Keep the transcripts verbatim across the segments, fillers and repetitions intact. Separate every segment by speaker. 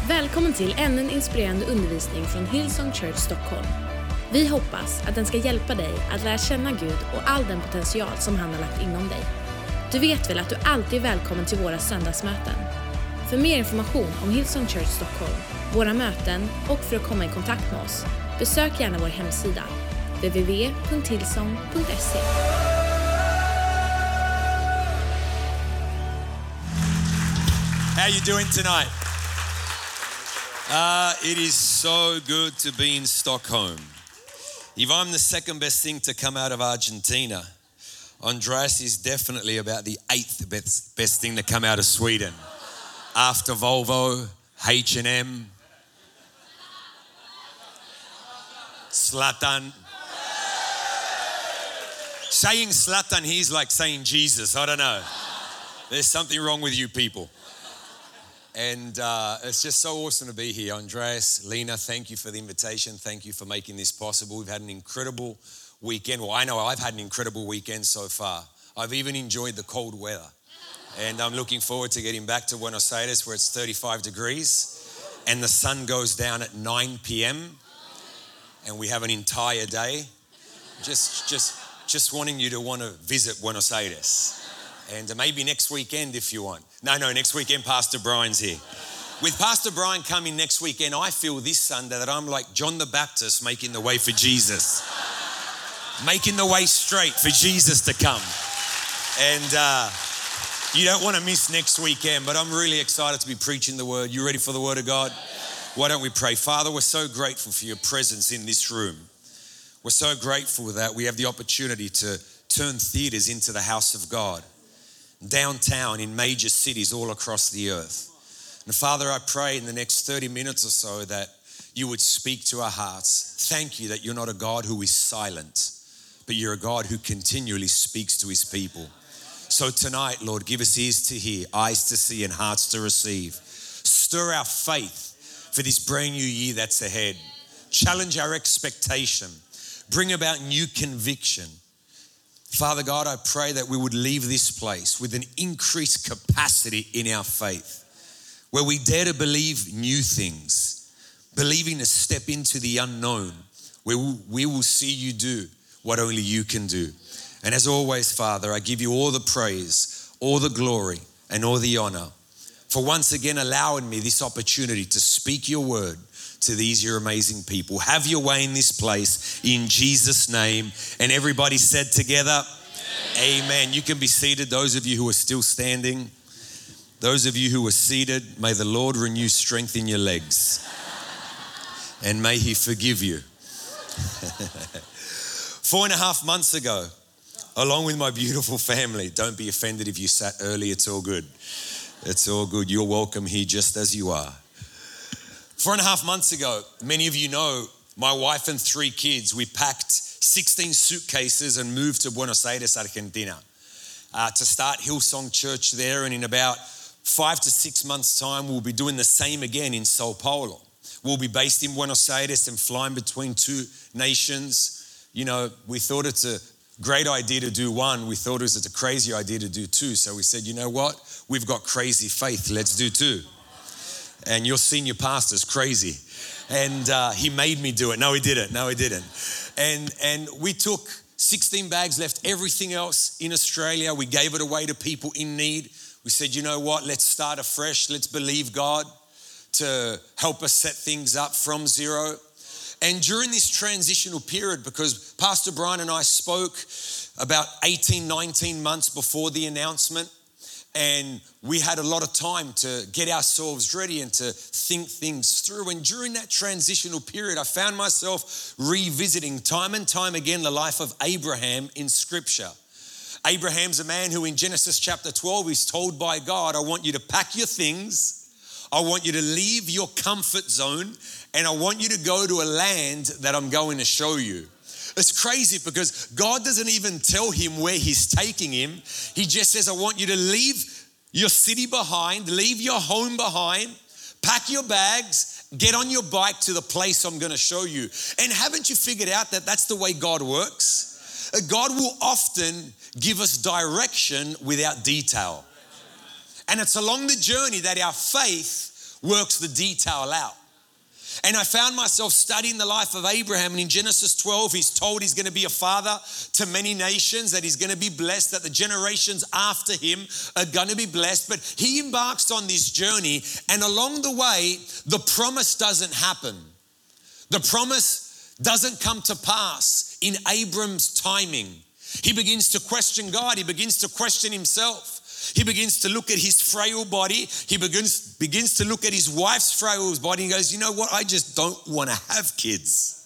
Speaker 1: Välkommen till ännu en inspirerande undervisning från Hillsong Church Stockholm. Vi hoppas att den ska hjälpa dig att lära känna Gud och all den potential som han har lagt inom dig. Du vet väl att du alltid är välkommen till våra söndagsmöten. För mer information om Hillsong Church Stockholm, våra möten och för att komma i kontakt med oss, besök gärna vår hemsida w w w punkt hillsong punkt se.
Speaker 2: How you doing tonight? Uh, it is so good to be in Stockholm. If I'm the second best thing to come out of Argentina, Andreas is definitely about the eighth best, best thing to come out of Sweden. After Volvo, H and M, Zlatan. Saying Zlatan here is like saying Jesus. I don't know. There's something wrong with you people. And uh, it's just so awesome to be here. Andreas, Lena, thank you for the invitation. Thank you for making this possible. We've had an incredible weekend. Well, I know I've had an incredible weekend so far. I've even enjoyed the cold weather. And I'm looking forward to getting back to Buenos Aires where it's thirty-five degrees and the sun goes down at nine p.m. and we have an entire day. Just, just, just wanting you to want to visit Buenos Aires. And maybe next weekend if you want. No, no, next weekend Pastor Brian's here. With Pastor Brian coming next weekend, I feel this Sunday that I'm like John the Baptist making the way for Jesus. Making the way straight for Jesus to come. And uh, you don't want to miss next weekend, but I'm really excited to be preaching the word. You ready for the word of God? Why don't we pray? Father, we're so grateful for your presence in this room. We're so grateful that we have the opportunity to turn theaters into the house of God. Downtown in major cities all across the earth. And Father, I pray in the next thirty minutes or so that you would speak to our hearts. Thank you that you're not a God who is silent, but you're a God who continually speaks to his people. So tonight, Lord, give us ears to hear, eyes to see, and hearts to receive. Stir our faith for this brand new year that's ahead. Challenge our expectation. Bring about new conviction. Father God, I pray that we would leave this place with an increased capacity in our faith, where we dare to believe new things, believing to step into the unknown, where we will see you do what only you can do. And as always, Father, I give you all the praise, all the glory, and all the honor for once again allowing me this opportunity to speak your word to these your amazing people. Have your way in this place in Jesus' name. And everybody said together, Amen. Amen. You can be seated. Those of you who are still standing, those of you who are seated, may the Lord renew strength in your legs and may he forgive you. Four and a half months ago, along with my beautiful family, don't be offended if you sat early, it's all good. It's all good. You're welcome here just as you are. Four and a half months ago, many of you know, my wife and three kids, we packed sixteen suitcases and moved to Buenos Aires, Argentina, uh, to start Hillsong Church there. And in about five to six months' time, we'll be doing the same again in Sao Paulo. We'll be based in Buenos Aires and flying between two nations. You know, we thought it's a great idea to do one. We thought it was a crazy idea to do two. So we said, you know what? We've got crazy faith. Let's do two. And your senior pastor's crazy. And uh, he made me do it. No, he didn't. No, he didn't. And, and we took sixteen bags, left everything else in Australia. We gave it away to people in need. We said, you know what? Let's start afresh. Let's believe God to help us set things up from zero. And during this transitional period, because Pastor Brian and I spoke about eighteen, nineteen months before the announcement, and we had a lot of time to get ourselves ready and to think things through. And during that transitional period, I found myself revisiting time and time again the life of Abraham in Scripture. Abraham's a man who in Genesis chapter twelve is told by God, I want you to pack your things. I want you to leave your comfort zone and I want you to go to a land that I'm going to show you. It's crazy because God doesn't even tell him where he's taking him. He just says, I want you to leave your city behind, leave your home behind, pack your bags, get on your bike to the place I'm going to show you. And haven't you figured out that that's the way God works? God will often give us direction without detail. And it's along the journey that our faith works the detail out. And I found myself studying the life of Abraham, and in Genesis twelve, he's told he's going to be a father to many nations, that he's going to be blessed, that the generations after him are going to be blessed. But he embarks on this journey, and along the way, the promise doesn't happen. The promise doesn't come to pass in Abram's timing. He begins to question God. He begins to question himself. He begins to look at his frail body. He begins, begins to look at his wife's frail body and goes, you know what? I just don't want to have kids.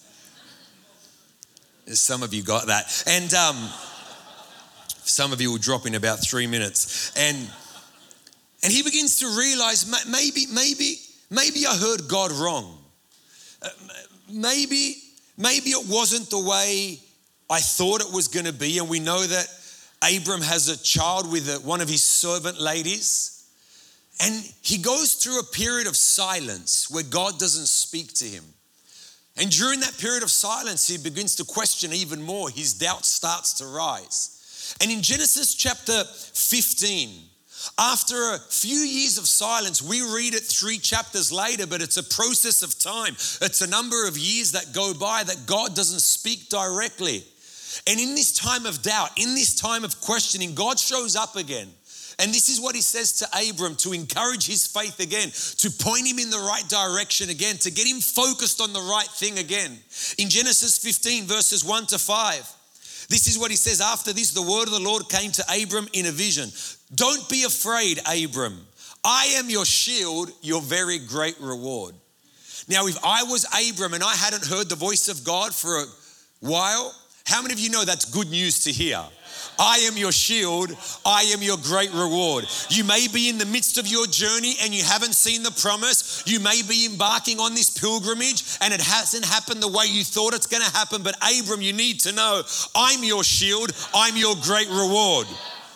Speaker 2: Some of you got that. And um, some of you will drop in about three minutes. And, and he begins to realize maybe, maybe, maybe I heard God wrong. Uh, maybe, maybe it wasn't the way I thought it was going to be. And we know that Abram has a child with one of his servant ladies, and he goes through a period of silence where God doesn't speak to him. And during that period of silence, he begins to question even more. His doubt starts to rise. And in Genesis chapter fifteen, after a few years of silence, we read it three chapters later, but it's a process of time. It's a number of years that go by that God doesn't speak directly. And in this time of doubt, in this time of questioning, God shows up again. And this is what he says to Abram to encourage his faith again, to point him in the right direction again, to get him focused on the right thing again. In Genesis fifteen, verses one to five, this is what he says. After this, the word of the Lord came to Abram in a vision. Don't be afraid, Abram. I am your shield, your very great reward. Now, if I was Abram and I hadn't heard the voice of God for a while, how many of you know that's good news to hear? I am your shield. I am your great reward. You may be in the midst of your journey and you haven't seen the promise. You may be embarking on this pilgrimage and it hasn't happened the way you thought it's going to happen. But Abram, you need to know, I'm your shield. I'm your great reward.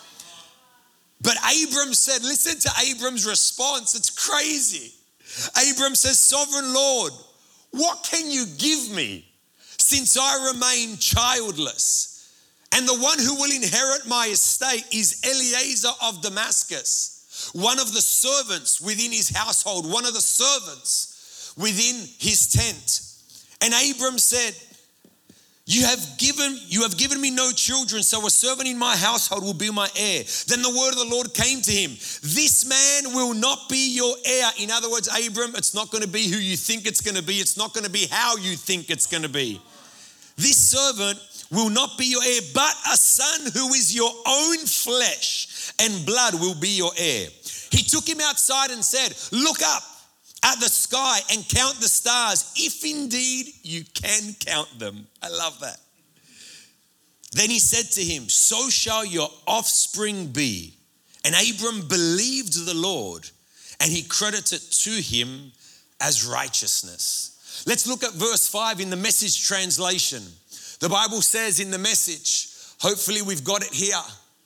Speaker 2: But Abram said, listen to Abram's response. It's crazy. Abram says, Sovereign Lord, what can you give me since I remain childless? And the one who will inherit my estate is Eliezer of Damascus, one of the servants within his household, one of the servants within his tent. And Abram said, You have given, you have given me no children, so a servant in my household will be my heir. Then the word of the Lord came to him. This man will not be your heir. In other words, Abram, it's not going to be who you think it's going to be. It's not going to be how you think it's going to be. This servant will not be your heir, but a son who is your own flesh and blood will be your heir. He took him outside and said, look up at the sky and count the stars, if indeed you can count them. I love that. Then he said to him, so shall your offspring be. And Abram believed the Lord, and he credited to him as righteousness. Let's look at verse five in the Message translation. The Bible says in the Message, hopefully we've got it here.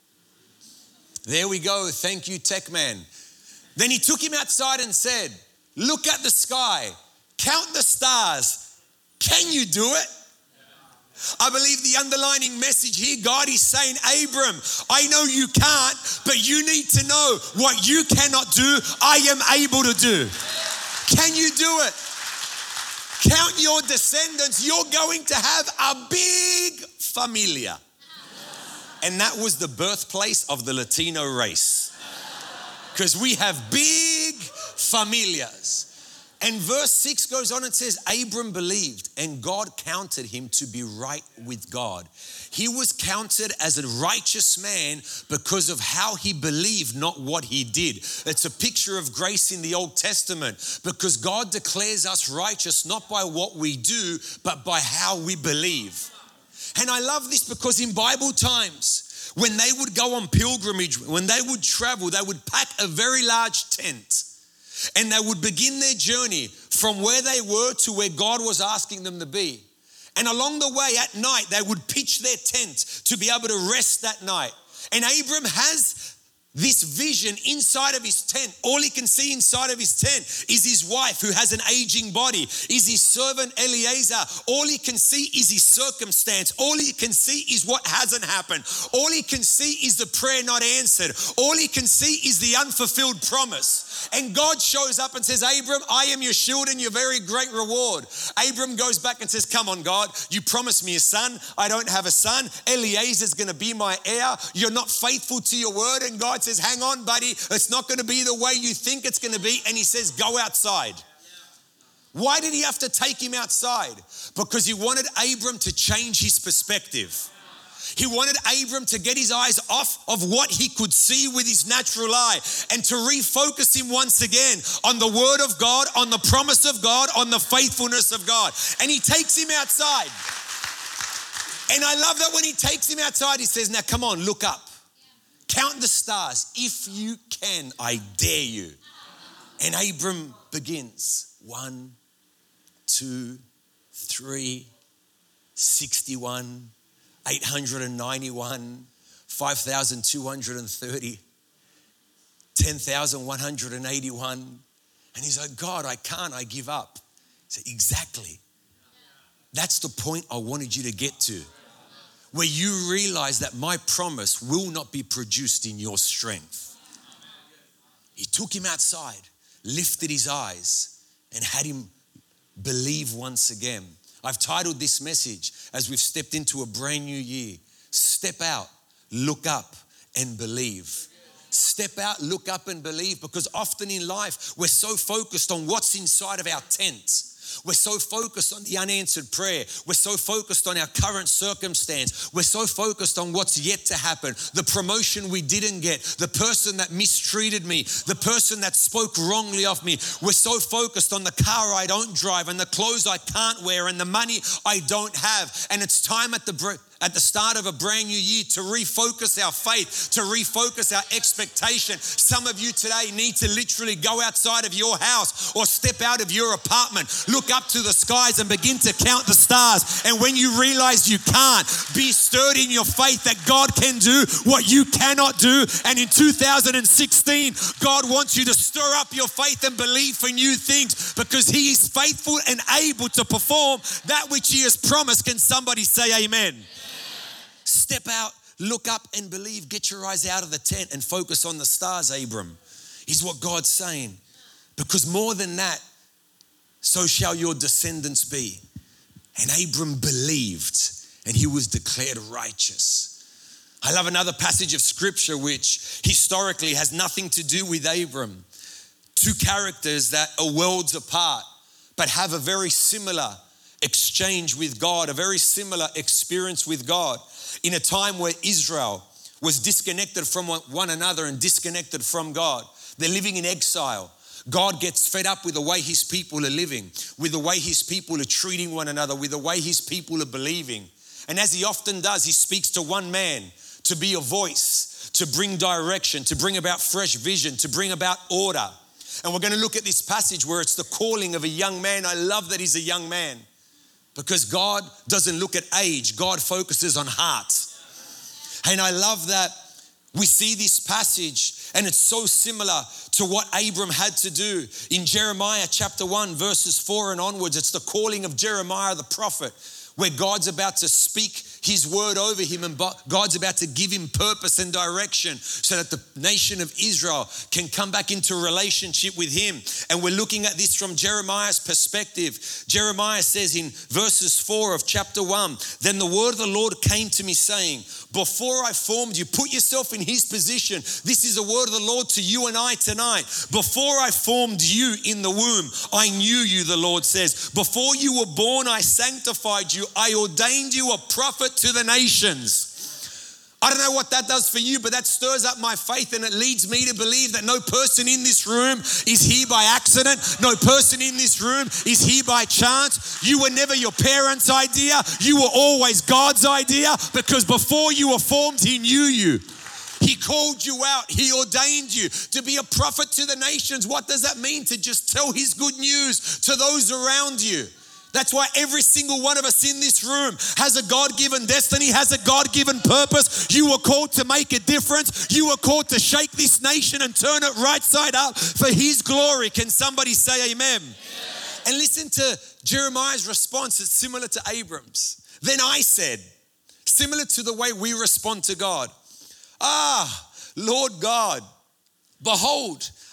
Speaker 2: There we go. Thank you, Tech Man. Then he took him outside and said, look at the sky, count the stars. Can you do it? I believe the underlining message here, God is saying, Abram, I know you can't, but you need to know what you cannot do, I am able to do. Can you do it? Count your descendants. You're going to have a big familia. And that was the birthplace of the Latino race. Because we have big familias. And verse six goes on and says, Abram believed and God counted him to be right with God. He was counted as a righteous man because of how he believed, not what he did. It's a picture of grace in the Old Testament because God declares us righteous not by what we do, but by how we believe. And I love this because in Bible times, when they would go on pilgrimage, when they would travel, they would pack a very large tent. And they would begin their journey from where they were to where God was asking them to be. And along the way at night, they would pitch their tent to be able to rest that night. And Abram has this vision inside of his tent. All he can see inside of his tent is his wife who has an aging body, is his servant Eliezer. All he can see is his circumstance. All he can see is what hasn't happened. All he can see is the prayer not answered. All he can see is the unfulfilled promise. And God shows up and says, Abram, I am your shield and your very great reward. Abram goes back and says, come on, God, you promised me a son. I don't have a son. Eliezer's going to be my heir. You're not faithful to your word. And God says, hang on, buddy. It's not going to be the way you think it's going to be. And he says, go outside. Why did he have to take him outside? Because he wanted Abram to change his perspective. He wanted Abram to get his eyes off of what he could see with his natural eye and to refocus him once again on the word of God, on the promise of God, on the faithfulness of God. And he takes him outside. And I love that when he takes him outside, he says, now come on, look up. Count the stars. If you can, I dare you. And Abram begins. One, two, three, sixty-one, eight hundred ninety-one, five thousand two hundred thirty, ten thousand one hundred eighty-one. And he's like, God, I can't, I give up. I said, exactly. That's the point I wanted you to get to, where you realize that my promise will not be produced in your strength. He took him outside, lifted his eyes, and had him believe once again. I've titled this message, as we've stepped into a brand new year, Step Out, Look Up, and Believe. Step out, look up, and believe, because often in life, we're so focused on what's inside of our tent. We're so focused on the unanswered prayer. We're so focused on our current circumstance. We're so focused on what's yet to happen. The promotion we didn't get, the person that mistreated me, the person that spoke wrongly of me. We're so focused on the car I don't drive and the clothes I can't wear and the money I don't have. And it's time at the break. At the start of a brand new year to refocus our faith, to refocus our expectation. Some of you today need to literally go outside of your house or step out of your apartment, look up to the skies and begin to count the stars. And when you realize you can't, be stirred in your faith that God can do what you cannot do. And in two thousand sixteen, God wants you to stir up your faith and believe for new things, because He is faithful and able to perform that which He has promised. Can somebody say amen? Step out, look up, and believe. Get your eyes out of the tent and focus on the stars, Abram, is what God's saying. Because more than that, so shall your descendants be. And Abram believed, and he was declared righteous. I love another passage of scripture which historically has nothing to do with Abram. Two characters that are worlds apart, but have a very similar exchange with God, a very similar experience with God. In a time where Israel was disconnected from one another and disconnected from God. They're living in exile. God gets fed up with the way His people are living, with the way His people are treating one another, with the way His people are believing. And as He often does, He speaks to one man to be a voice, to bring direction, to bring about fresh vision, to bring about order. And we're going to look at this passage where it's the calling of a young man. I love that he's a young man. Because God doesn't look at age, God focuses on heart. And I love that we see this passage and it's so similar to what Abram had to do. In Jeremiah chapter one, verses four and onwards, it's the calling of Jeremiah the prophet, where God's about to speak His word over him and God's about to give him purpose and direction so that the nation of Israel can come back into relationship with Him. And we're looking at this from Jeremiah's perspective. Jeremiah says in verses four of chapter one, then the word of the Lord came to me saying, before I formed you, put yourself in His position. This is a word of the Lord to you and I tonight. Before I formed you in the womb, I knew you, the Lord says. Before you were born, I sanctified you. I ordained you a prophet to the nations. I don't know what that does for you, but that stirs up my faith and it leads me to believe that no person in this room is here by accident. No person in this room is here by chance. You were never your parents' idea. You were always God's idea, because before you were formed, He knew you. He called you out. He ordained you to be a prophet to the nations. What does that mean? To just tell His good news to those around you. That's why every single one of us in this room has a God-given destiny, has a God-given purpose. You were called to make a difference. You were called to shake this nation and turn it right side up for His glory. Can somebody say amen? Amen. And listen to Jeremiah's response. It's similar to Abram's. Then I said, similar to the way we respond to God, ah, Lord God, behold,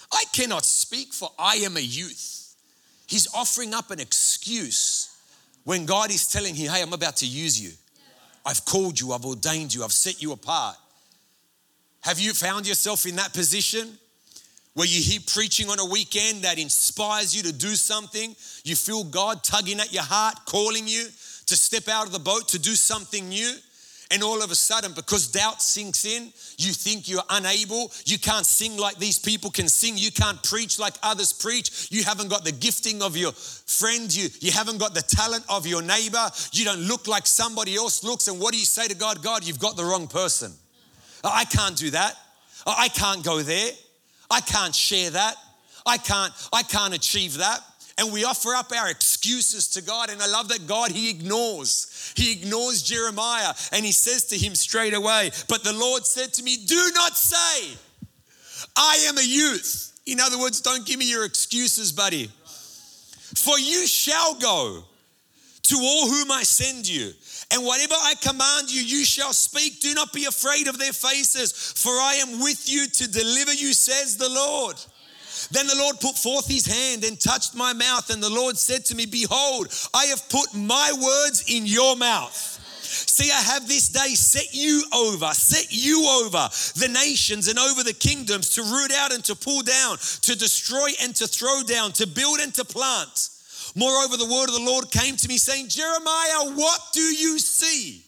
Speaker 2: I cannot speak, for I am a youth. He's offering up an excuse when God is telling him, hey, I'm about to use you. I've called you, I've ordained you, I've set you apart. Have you found yourself in that position where you hear preaching on a weekend that inspires you to do something? You feel God tugging at your heart, calling you to step out of the boat, to do something new. And all of a sudden, because doubt sinks in, you think you're unable. You can't sing like these people can sing. You can't preach like others preach. You haven't got the gifting of your friend. You, you haven't got the talent of your neighbor. You don't look like somebody else looks. And what do you say to God? God, you've got the wrong person. I can't do that. I can't go there. I can't share that. I can't, I can't achieve that. And we offer up our excuses to God. And I love that God, he ignores. He ignores Jeremiah and he says to him straight away, but the Lord said to me, do not say, I am a youth. In other words, don't give me your excuses, buddy. For you shall go to all whom I send you. And whatever I command you, you shall speak. Do not be afraid of their faces, for I am with you to deliver you, says the Lord. Then the Lord put forth his hand and touched my mouth. And the Lord said to me, behold, I have put my words in your mouth. See, I have this day set you over, set you over the nations and over the kingdoms, to root out and to pull down, to destroy and to throw down, to build and to plant. Moreover, the word of the Lord came to me saying, Jeremiah, what do you see?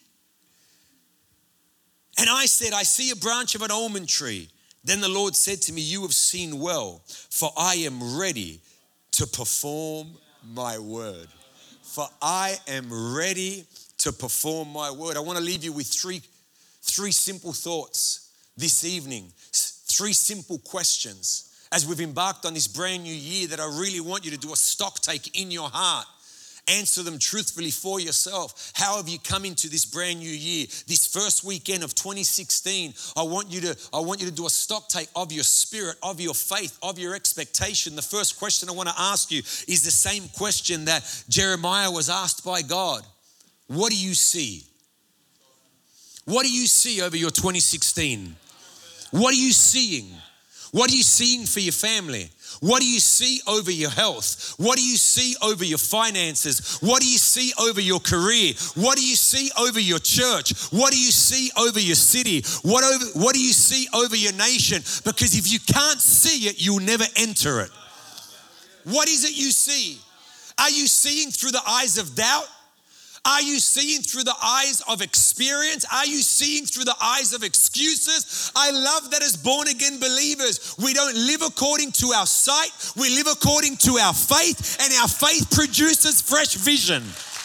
Speaker 2: And I said, I see a branch of an almond tree. Then the Lord said to me, you have seen well, for I am ready to perform my word. For I am ready to perform my word. I want to leave you with three, three simple thoughts this evening, three simple questions as we've embarked on this brand new year that I really want you to do a stock take in your heart. Answer them truthfully for yourself. How have you come into this brand new year? This first weekend of twenty sixteen, I want you to, I want you to do a stock take of your spirit, of your faith, of your expectation. The first question I want to ask you is the same question that Jeremiah was asked by God. What do you see? What do you see over your twenty sixteen? What are you seeing? What are you seeing for your family? What do you see over your health? What do you see over your finances? What do you see over your career? What do you see over your church? What do you see over your city? What over, what do you see over your nation? Because if you can't see it, you'll never enter it. What is it you see? Are you seeing through the eyes of doubt? Are you seeing through the eyes of experience? Are you seeing through the eyes of excuses? I love that as born again believers, we don't live according to our sight. We live according to our faith, and our faith produces fresh vision.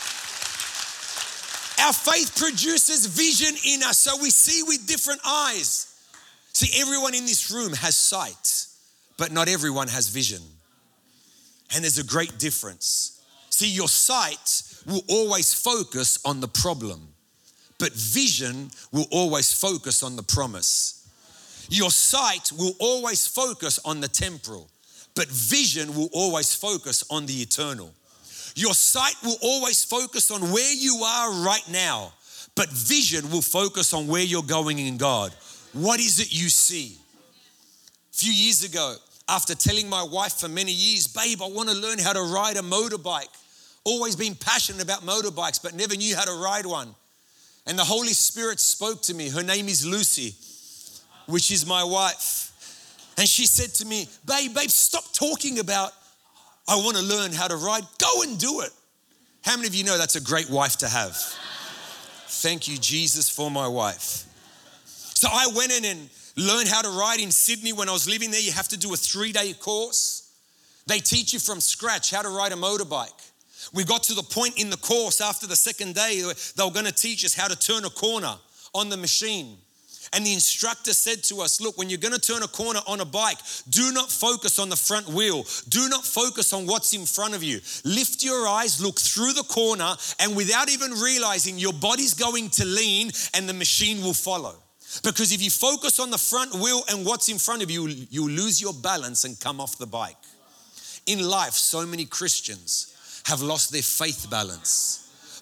Speaker 2: Our faith produces vision in us, so we see with different eyes. See, everyone in this room has sight, but not everyone has vision. And there's a great difference. See, your sight will always focus on the problem, but vision will always focus on the promise. Your sight will always focus on the temporal, but vision will always focus on the eternal. Your sight will always focus on where you are right now, but vision will focus on where you're going in God. What is it you see? A few years ago, after telling my wife for many years, babe, I want to learn how to ride a motorbike. Always been passionate about motorbikes, but never knew how to ride one. And the Holy Spirit spoke to me. Her name is Lucy, which is my wife. And she said to me, babe, babe, stop talking about, I want to learn how to ride. Go and do it. How many of you know that's a great wife to have? Thank you, Jesus, for my wife. So I went in and learned how to ride in Sydney. When I was living there, you have to do a three-day course. They teach you from scratch how to ride a motorbike. We got to the point in the course after the second day, they were going to teach us how to turn a corner on the machine. And the instructor said to us, look, when you're going to turn a corner on a bike, do not focus on the front wheel. Do not focus on what's in front of you. Lift your eyes, look through the corner, and without even realizing, your body's going to lean and the machine will follow. Because if you focus on the front wheel and what's in front of you, you'll lose your balance and come off the bike. In life, so many Christians have lost their faith balance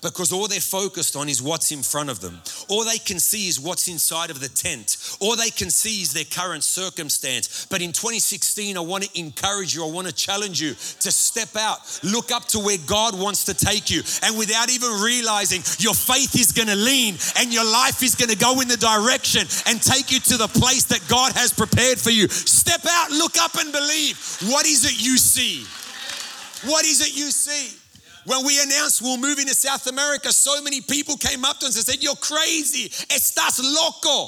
Speaker 2: Because all they're focused on is what's in front of them. All they can see is what's inside of the tent. All they can see is their current circumstance. But in twenty sixteen, I want to encourage you, I want to challenge you to step out, look up to where God wants to take you. And without even realizing, your faith is going to lean and your life is going to go in the direction and take you to the place that God has prepared for you. Step out, look up and believe. What is it you see? What is it you see? When we announced we'll move into South America, so many people came up to us and said, "You're crazy, estás loco."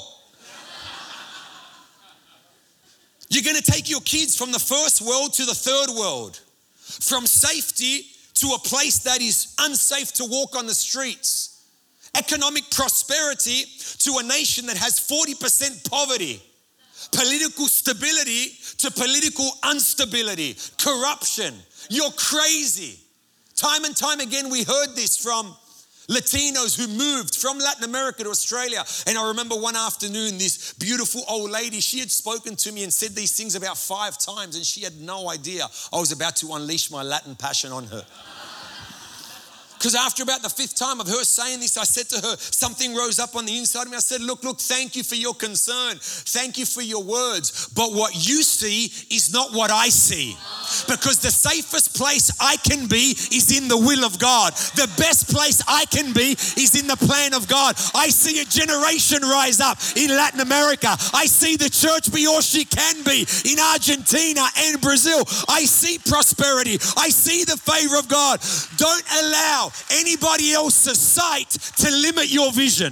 Speaker 2: You're going to take your kids from the first world to the third world, from safety to a place that is unsafe to walk on the streets, economic prosperity to a nation that has forty percent poverty, political stability to political instability, corruption. You're crazy. Time and time again, we heard this from Latinos who moved from Latin America to Australia. And I remember one afternoon, this beautiful old lady, she had spoken to me and said these things about five times, and she had no idea I was about to unleash my Latin passion on her. Because after about the fifth time of her saying this, I said to her, something rose up on the inside of me. I said, look, look, thank you for your concern. Thank you for your words. But what you see is not what I see. Because the safest place I can be is in the will of God. The best place I can be is in the plan of God. I see a generation rise up in Latin America. I see the church be all she can be in Argentina and Brazil. I see prosperity. I see the favor of God. Don't allow anybody else's sight to limit your vision.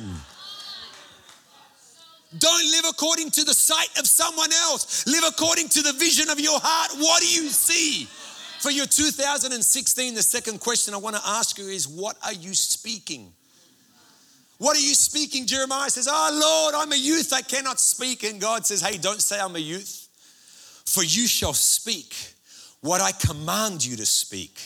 Speaker 2: Don't live according to the sight of someone else. Live according to the vision of your heart. What do you see? For your two thousand sixteen, the second question I want to ask you is, what are you speaking? What are you speaking? Jeremiah says, oh Lord, I'm a youth, I cannot speak. And God says, hey, don't say I'm a youth. For you shall speak what I command you to speak.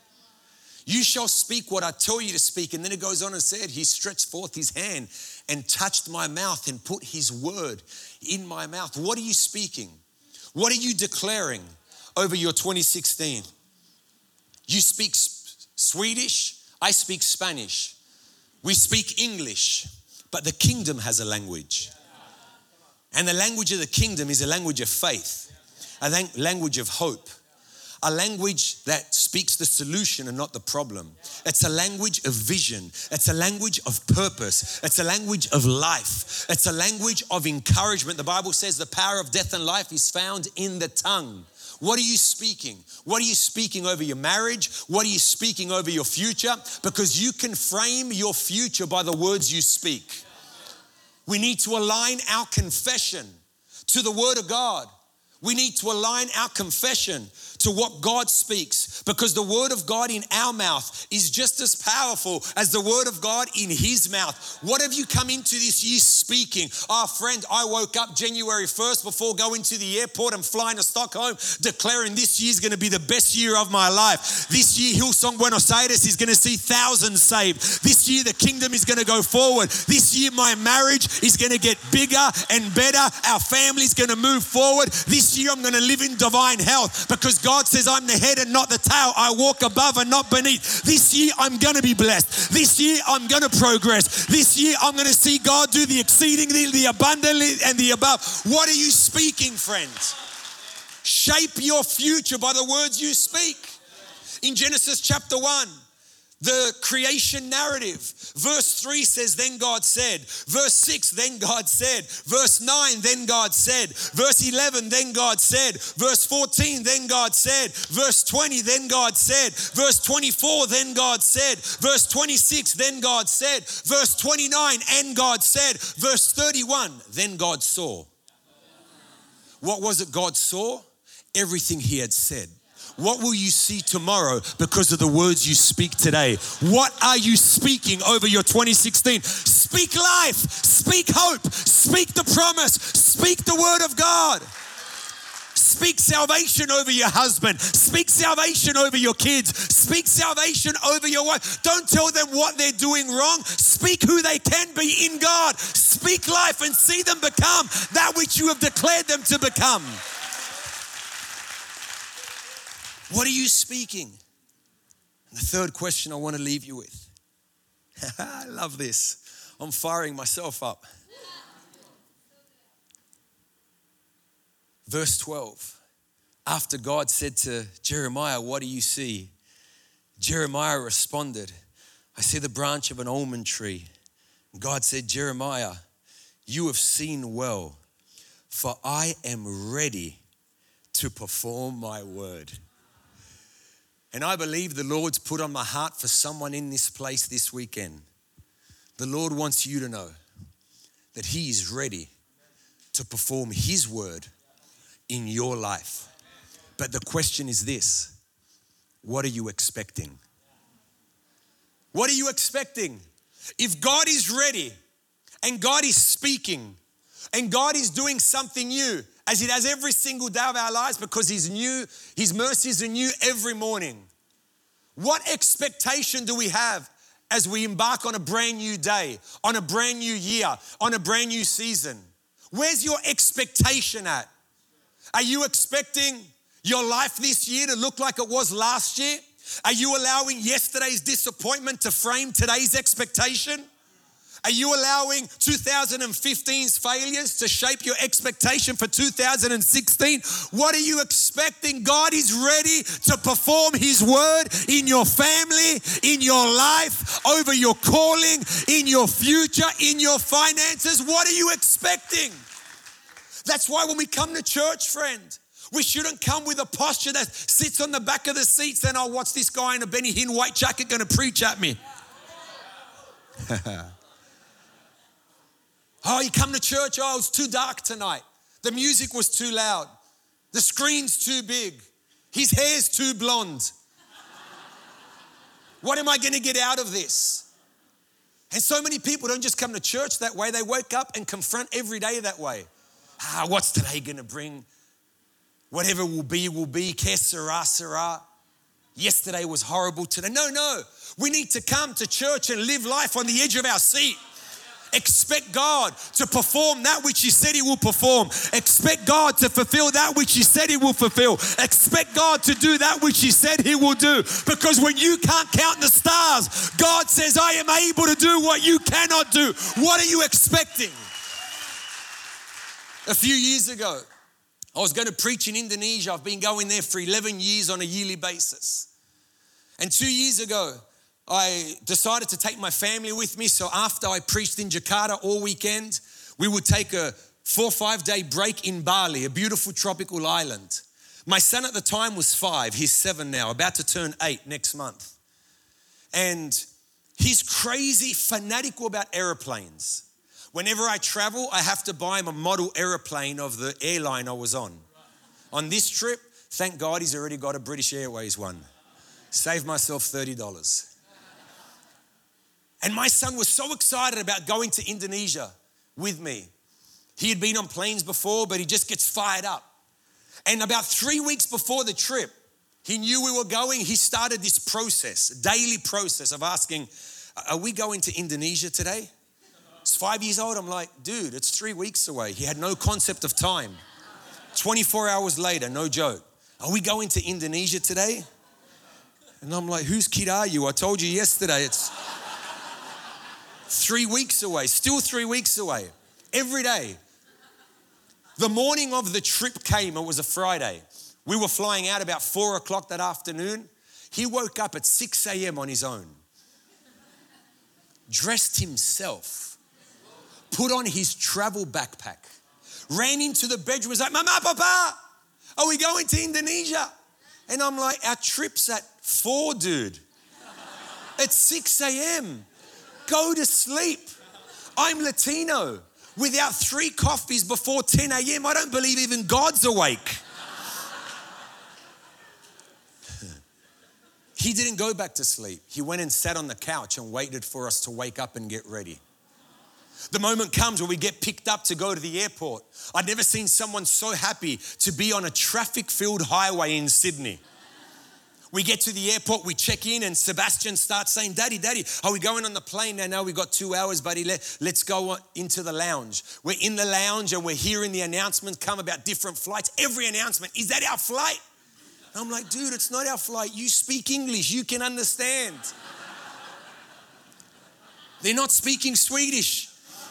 Speaker 2: You shall speak what I tell you to speak. And then it goes on and said, he stretched forth his hand and touched my mouth and put his word in my mouth. What are you speaking? What are you declaring over your twenty sixteen? You speak Swedish, I speak Spanish. We speak English, but the kingdom has a language. And the language of the kingdom is a language of faith, a language of hope. A language that speaks the solution and not the problem. It's a language of vision. It's a language of purpose. It's a language of life. It's a language of encouragement. The Bible says the power of death and life is found in the tongue. What are you speaking? What are you speaking over your marriage? What are you speaking over your future? Because you can frame your future by the words you speak. We need to align our confession to the word of God. We need to align our confession to what God speaks, because the word of God in our mouth is just as powerful as the word of God in his mouth. What have you come into this year speaking? Oh, friend, I woke up January first before going to the airport and flying to Stockholm, declaring this year is going to be the best year of my life. This year, Hillsong Buenos Aires is going to see thousands saved. This year, the kingdom is going to go forward. This year, my marriage is going to get bigger and better. Our family is going to move forward. This year, I'm going to live in divine health, because God God says I'm the head and not the tail. I walk above and not beneath. This year I'm going to be blessed. This year I'm going to progress. This year I'm going to see God do the exceedingly, the abundantly, and the above. What are you speaking, friends? Shape your future by the words you speak. In Genesis chapter one, the creation narrative. Verse three says, then God said. Verse six, then God said. Verse nine, then God said. Verse eleven, then God said. Verse fourteen, then God said. Verse twenty, then God said. Verse twenty-four, then God said. Verse twenty-six, then God said. Verse twenty-nine, and God said. Verse thirty-one, then God saw. What was it God saw? Everything he had said. What will you see tomorrow because of the words you speak today? What are you speaking over your twenty sixteen? Speak life, speak hope, speak the promise, speak the word of God. Speak salvation over your husband. Speak salvation over your kids. Speak salvation over your wife. Don't tell them what they're doing wrong. Speak who they can be in God. Speak life and see them become that which you have declared them to become. What are you speaking? And the third question I want to leave you with. I love this. I'm firing myself up. Verse twelve. After God said to Jeremiah, what do you see? Jeremiah responded, I see the branch of an almond tree. God said, Jeremiah, you have seen well, for I am ready to perform my word. And I believe the Lord's put on my heart for someone in this place this weekend. The Lord wants you to know that he is ready to perform his word in your life. But the question is this, what are you expecting? What are you expecting? If God is ready and God is speaking and God is doing something new, as he does every single day of our lives because he's new, his mercies are new every morning. What expectation do we have as we embark on a brand new day, on a brand new year, on a brand new season? Where's your expectation at? Are you expecting your life this year to look like it was last year? Are you allowing yesterday's disappointment to frame today's expectation? Are you allowing two thousand fifteen's failures to shape your expectation for two thousand sixteen? What are you expecting? God is ready to perform his word in your family, in your life, over your calling, in your future, in your finances. What are you expecting? That's why when we come to church, friend, we shouldn't come with a posture that sits on the back of the seat saying, oh, what's this guy in a Benny Hinn white jacket going to preach at me? Oh, you come to church, oh, it's too dark tonight. The music was too loud. The screen's too big. His hair's too blonde. What am I going to get out of this? And so many people don't just come to church that way. They wake up and confront every day that way. Ah, what's today going to bring? Whatever will be, will be. Que sera, sera. Yesterday was horrible today. No, no. We need to come to church and live life on the edge of our seat. Expect God to perform that which he said he will perform. Expect God to fulfill that which he said he will fulfill. Expect God to do that which he said he will do. Because when you can't count the stars, God says, I am able to do what you cannot do. What are you expecting? A few years ago, I was going to preach in Indonesia. I've been going there for eleven years on a yearly basis. And two years ago, I decided to take my family with me. So after I preached in Jakarta all weekend, we would take a four or five day break in Bali, a beautiful tropical island. My son at the time was five. He's seven now, about to turn eight next month. And he's crazy fanatical about airplanes. Whenever I travel, I have to buy him a model airplane of the airline I was on. On this trip, thank God he's already got a British Airways one. Saved myself thirty dollars. And my son was so excited about going to Indonesia with me. He had been on planes before, but he just gets fired up. And about three weeks before the trip, he knew we were going. He started this process, daily process of asking, are we going to Indonesia today? He's five years old. I'm like, dude, it's three weeks away. He had no concept of time. twenty-four hours later, no joke. Are we going to Indonesia today? And I'm like, whose kid are you? I told you yesterday it's three weeks away, still three weeks away, every day. The morning of the trip came, it was a Friday. We were flying out about four o'clock that afternoon. He woke up at six a.m. on his own, dressed himself, put on his travel backpack, ran into the bedroom, was like, Mama, Papa, are we going to Indonesia? And I'm like, our trip's at four, dude. It's six a.m. Go to sleep. I'm Latino. Without three coffees before ten a.m., I don't believe even God's awake. He didn't go back to sleep. He went and sat on the couch and waited for us to wake up and get ready. The moment comes where we get picked up to go to the airport. I'd never seen someone so happy to be on a traffic-filled highway in Sydney. We get to the airport, we check in, and Sebastian starts saying, Daddy, Daddy, are we going on the plane now? No, we've got two hours, buddy. Let, let's go into the lounge. We're in the lounge and we're hearing the announcements come about different flights. Every announcement, is that our flight? I'm like, dude, it's not our flight. You speak English. You can understand. They're not speaking Swedish.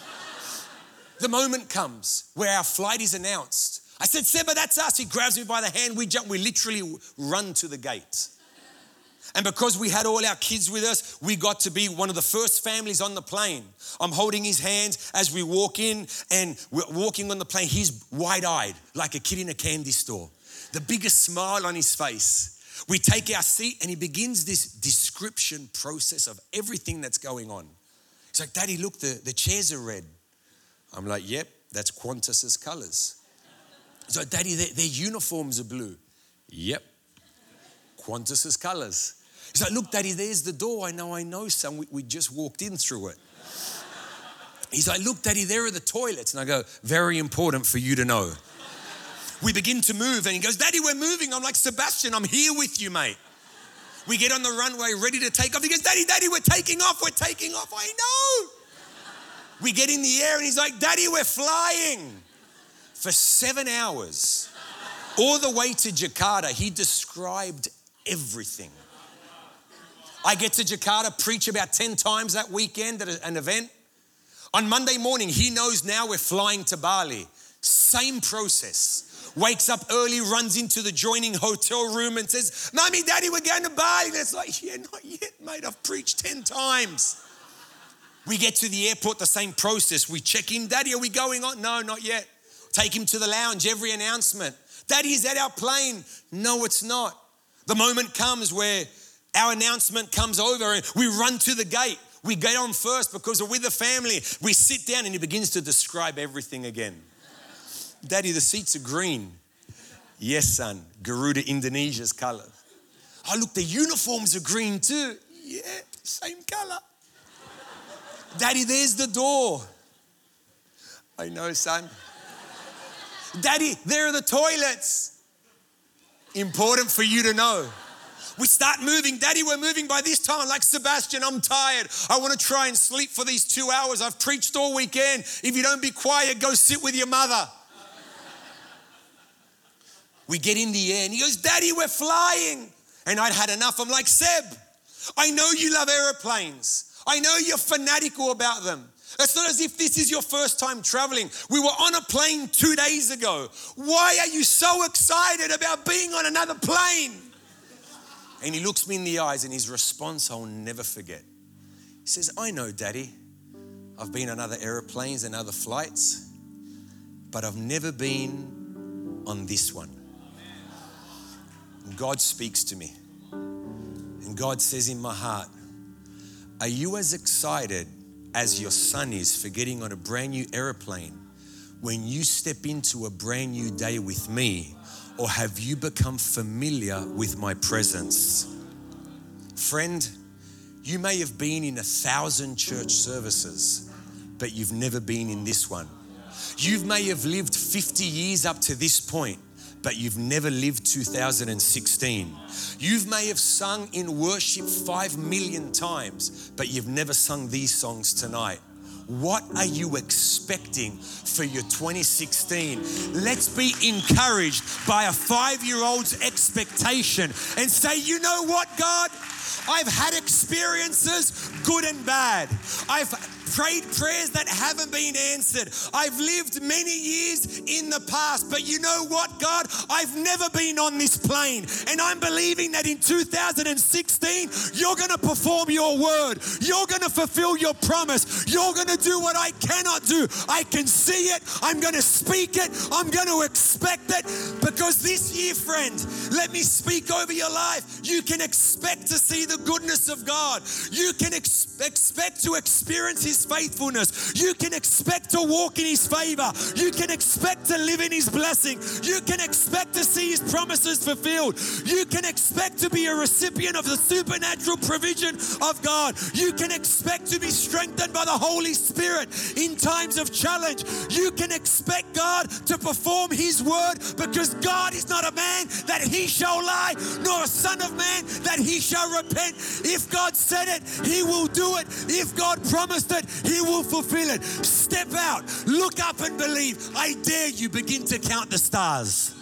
Speaker 2: The moment comes where our flight is announced. I said, Seba, that's us. He grabs me by the hand. We jump. We literally run to the gate. And because we had all our kids with us, we got to be one of the first families on the plane. I'm holding his hand as we walk in, and we're walking on the plane. He's wide-eyed, like a kid in a candy store. The biggest smile on his face. We take our seat, and he begins this description process of everything that's going on. He's like, Daddy, look, the, the chairs are red. I'm like, yep, that's Qantas's colors. He's like, Daddy, their, their uniforms are blue. Yep, Qantas's colors. He's like, look, Daddy, there's the door. I know, I know, son. We, we just walked in through it. He's like, look, Daddy, there are the toilets. And I go, very important for you to know. We begin to move, and he goes, Daddy, we're moving. I'm like, Sebastian, I'm here with you, mate. We get on the runway ready to take off. He goes, Daddy, Daddy, we're taking off. We're taking off. I know. We get in the air, and he's like, Daddy, we're flying. For seven hours, all the way to Jakarta, he described everything. I get to Jakarta, preach about ten times that weekend at an event. On Monday morning, he knows now we're flying to Bali. Same process. Wakes up early, runs into the joining hotel room and says, Mommy, Daddy, we're going to Bali. And it's like, yeah, not yet, mate. I've preached ten times. We get to the airport, the same process. We check in. Daddy, are we going on? No, not yet. Take him to the lounge, every announcement. Daddy, is that our plane? No, it's not. The moment comes where our announcement comes over and we run to the gate. We get on first because we're with the family. We sit down and he begins to describe everything again. Daddy, the seats are green. Yes, son. Garuda Indonesia's color. Oh, look, the uniforms are green too. Yeah, same color. Daddy, there's the door. I know, son. Daddy, there are the toilets. Important for you to know. We start moving. Daddy, we're moving by this time. Like, Sebastian, I'm tired. I want to try and sleep for these two hours. I've preached all weekend. If you don't be quiet, go sit with your mother. We get in the air and he goes, Daddy, we're flying. And I'd had enough. I'm like, Seb, I know you love airplanes. I know you're fanatical about them. It's not as if this is your first time traveling. We were on a plane two days ago. Why are you so excited about being on another plane? And he looks me in the eyes, and his response I'll never forget. He says, I know, Daddy. I've been on other airplanes and other flights, but I've never been on this one. And God speaks to me. And God says in my heart, are you as excited as your son is for getting on a brand new airplane when you step into a brand new day with me? Or have you become familiar with my presence? Friend, you may have been in a thousand church services, but you've never been in this one. You may have lived fifty years up to this point, but you've never lived two thousand sixteen. You may have sung in worship five million times, but you've never sung these songs tonight. What are you expecting for your twenty sixteen? Let's be encouraged by a five-year-old's expectation and say, you know what, God? I've had experiences, good and bad. I've prayed prayers that haven't been answered. I've lived many years in the past, but you know what, God? I've never been on this plane, and I'm believing that in two thousand sixteen, you're going to perform your word. You're going to fulfill your promise. You're going to do what I cannot do. I can see it. I'm going to speak it. I'm going to expect it, because this year, friend, let me speak over your life. You can expect to see the goodness of God. You can ex- expect to experience His faithfulness. You can expect to walk in His favor. You can expect to live in His blessing. You can expect to see His promises fulfilled. You can expect to be a recipient of the supernatural provision of God. You can expect to be strengthened by the Holy Spirit in times of challenge. You can expect God to perform His word, because God is not a man that He shall lie, nor a son of man that He shall repent. If God said it, He will do it. If God promised it, He will fulfill it. Step out, look up and believe. I dare you, begin to count the stars.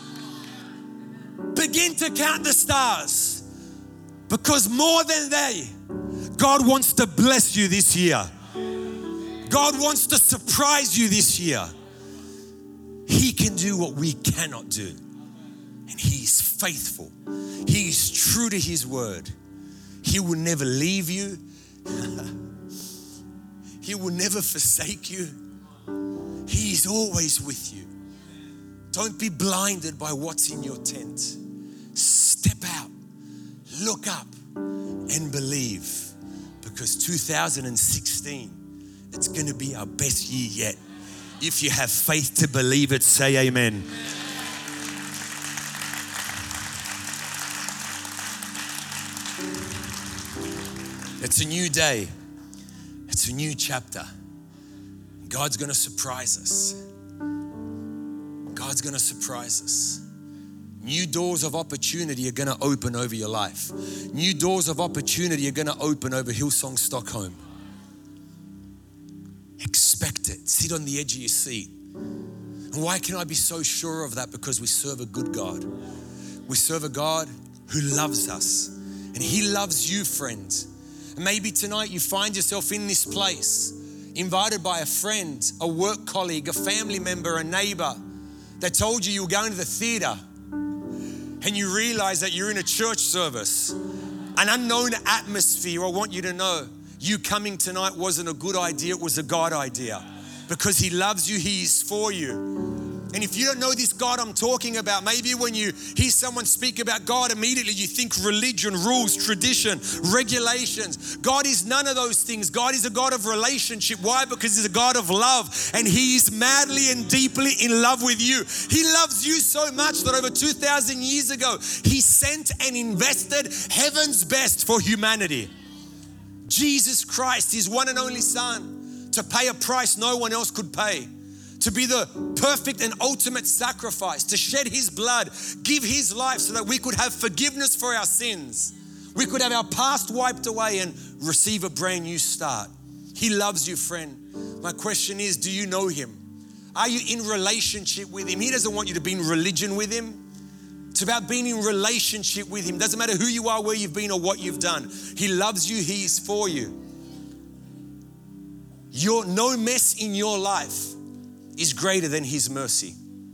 Speaker 2: Begin to count the stars, because more than they, God wants to bless you this year. God wants to surprise you this year. He can do what we cannot do. And He is faithful. He is true to His word. He will never leave you. He will never forsake you. He is always with you. Don't be blinded by what's in your tent. Step out, look up, and believe. Because two thousand sixteen, it's going to be our best year yet. If you have faith to believe it, say amen. It's a new day. It's a new chapter. God's going to surprise us. God's going to surprise us. New doors of opportunity are going to open over your life. New doors of opportunity are going to open over Hillsong Stockholm. Expect it. Sit on the edge of your seat. And why can I be so sure of that? Because we serve a good God. We serve a God who loves us. And He loves you, friends. And maybe tonight you find yourself in this place, invited by a friend, a work colleague, a family member, a neighbor that told you you were going to the theater, and you realize that you're in a church service, an unknown atmosphere. I want you to know you coming tonight wasn't a good idea, it was a God idea. Because He loves you, He is for you. And if you don't know this God I'm talking about, maybe when you hear someone speak about God, immediately you think religion, rules, tradition, regulations. God is none of those things. God is a God of relationship. Why? Because He's a God of love, and He is madly and deeply in love with you. He loves you so much that over two thousand years ago, He sent and invested heaven's best for humanity. Jesus Christ, His one and only Son, to pay a price no one else could pay. To be the perfect and ultimate sacrifice, to shed His blood, give His life so that we could have forgiveness for our sins. We could have our past wiped away and receive a brand new start. He loves you, friend. My question is, do you know Him? Are you in relationship with Him? He doesn't want you to be in religion with Him. It's about being in relationship with Him. Doesn't matter who you are, where you've been, or what you've done. He loves you. He is for you. Your no mess in your life is greater than His mercy.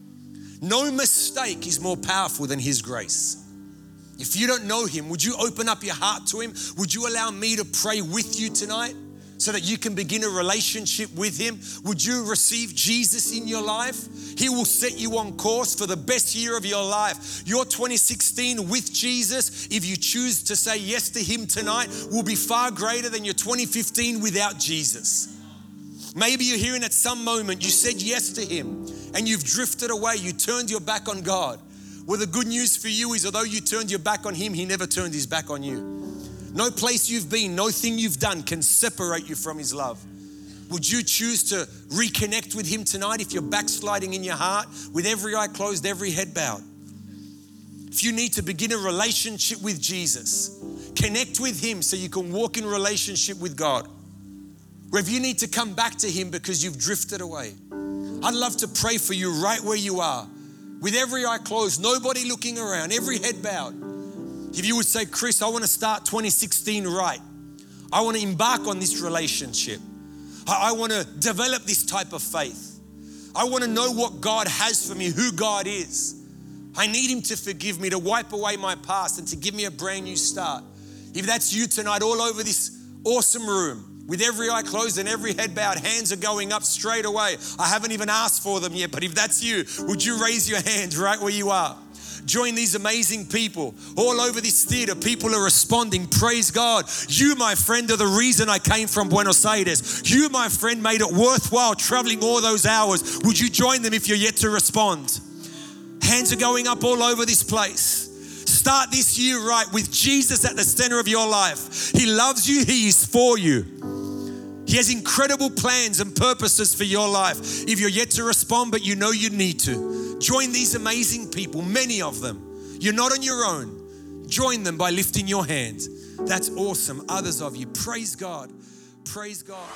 Speaker 2: No mistake is more powerful than His grace. If you don't know Him, would you open up your heart to Him? Would you allow me to pray with you tonight so that you can begin a relationship with Him? Would you receive Jesus in your life? He will set you on course for the best year of your life. Your twenty sixteen with Jesus, if you choose to say yes to Him tonight, will be far greater than your twenty fifteen without Jesus. Maybe you're hearing at some moment you said yes to Him and you've drifted away. You turned your back on God. Well, the good news for you is although you turned your back on Him, He never turned His back on you. No place you've been, no thing you've done can separate you from His love. Would you choose to reconnect with Him tonight if you're backsliding in your heart, with every eye closed, every head bowed? If you need to begin a relationship with Jesus, connect with Him so you can walk in relationship with God. Or if you need to come back to Him because you've drifted away, I'd love to pray for you right where you are, with every eye closed, nobody looking around, every head bowed. If you would say, Chris, I want to start twenty sixteen right. I want to embark on this relationship. I, I want to develop this type of faith. I want to know what God has for me, who God is. I need Him to forgive me, to wipe away my past and to give me a brand new start. If that's you tonight, all over this awesome room, with every eye closed and every head bowed, hands are going up straight away. I haven't even asked for them yet, but if that's you, would you raise your hands right where you are? Join these amazing people. All over this theater, people are responding. Praise God. You, my friend, are the reason I came from Buenos Aires. You, my friend, made it worthwhile traveling all those hours. Would you join them if you're yet to respond? Hands are going up all over this place. Start this year right with Jesus at the center of your life. He loves you. He is for you. He has incredible plans and purposes for your life. If you're yet to respond, but you know you need to, join these amazing people, many of them. You're not on your own. Join them by lifting your hands. That's awesome. Others of you, praise God. Praise God.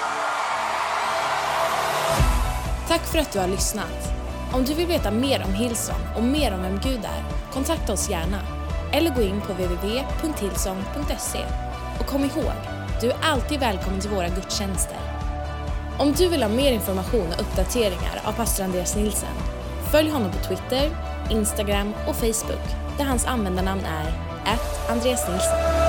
Speaker 1: Tack för att du har lyssnat. Om du vill veta mer om Hillsong och mer om vem Gud är, kontakta oss gärna. Eller gå in på w w w punkt hillsong punkt se. Och kom ihåg, du är alltid välkommen till våra gudstjänster. Om du vill ha mer information och uppdateringar av pastor Andreas Nilsen, följ honom på Twitter, Instagram och Facebook där hans användarnamn är at Andreas Nilsen.